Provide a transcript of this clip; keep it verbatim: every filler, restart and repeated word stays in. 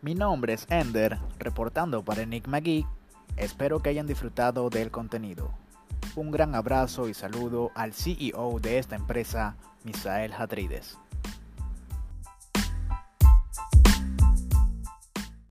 Mi nombre es Ender, reportando para Enigma Geek. Espero que hayan disfrutado del contenido. Un gran abrazo y saludo al C E O de esta empresa, Misael Hadrides.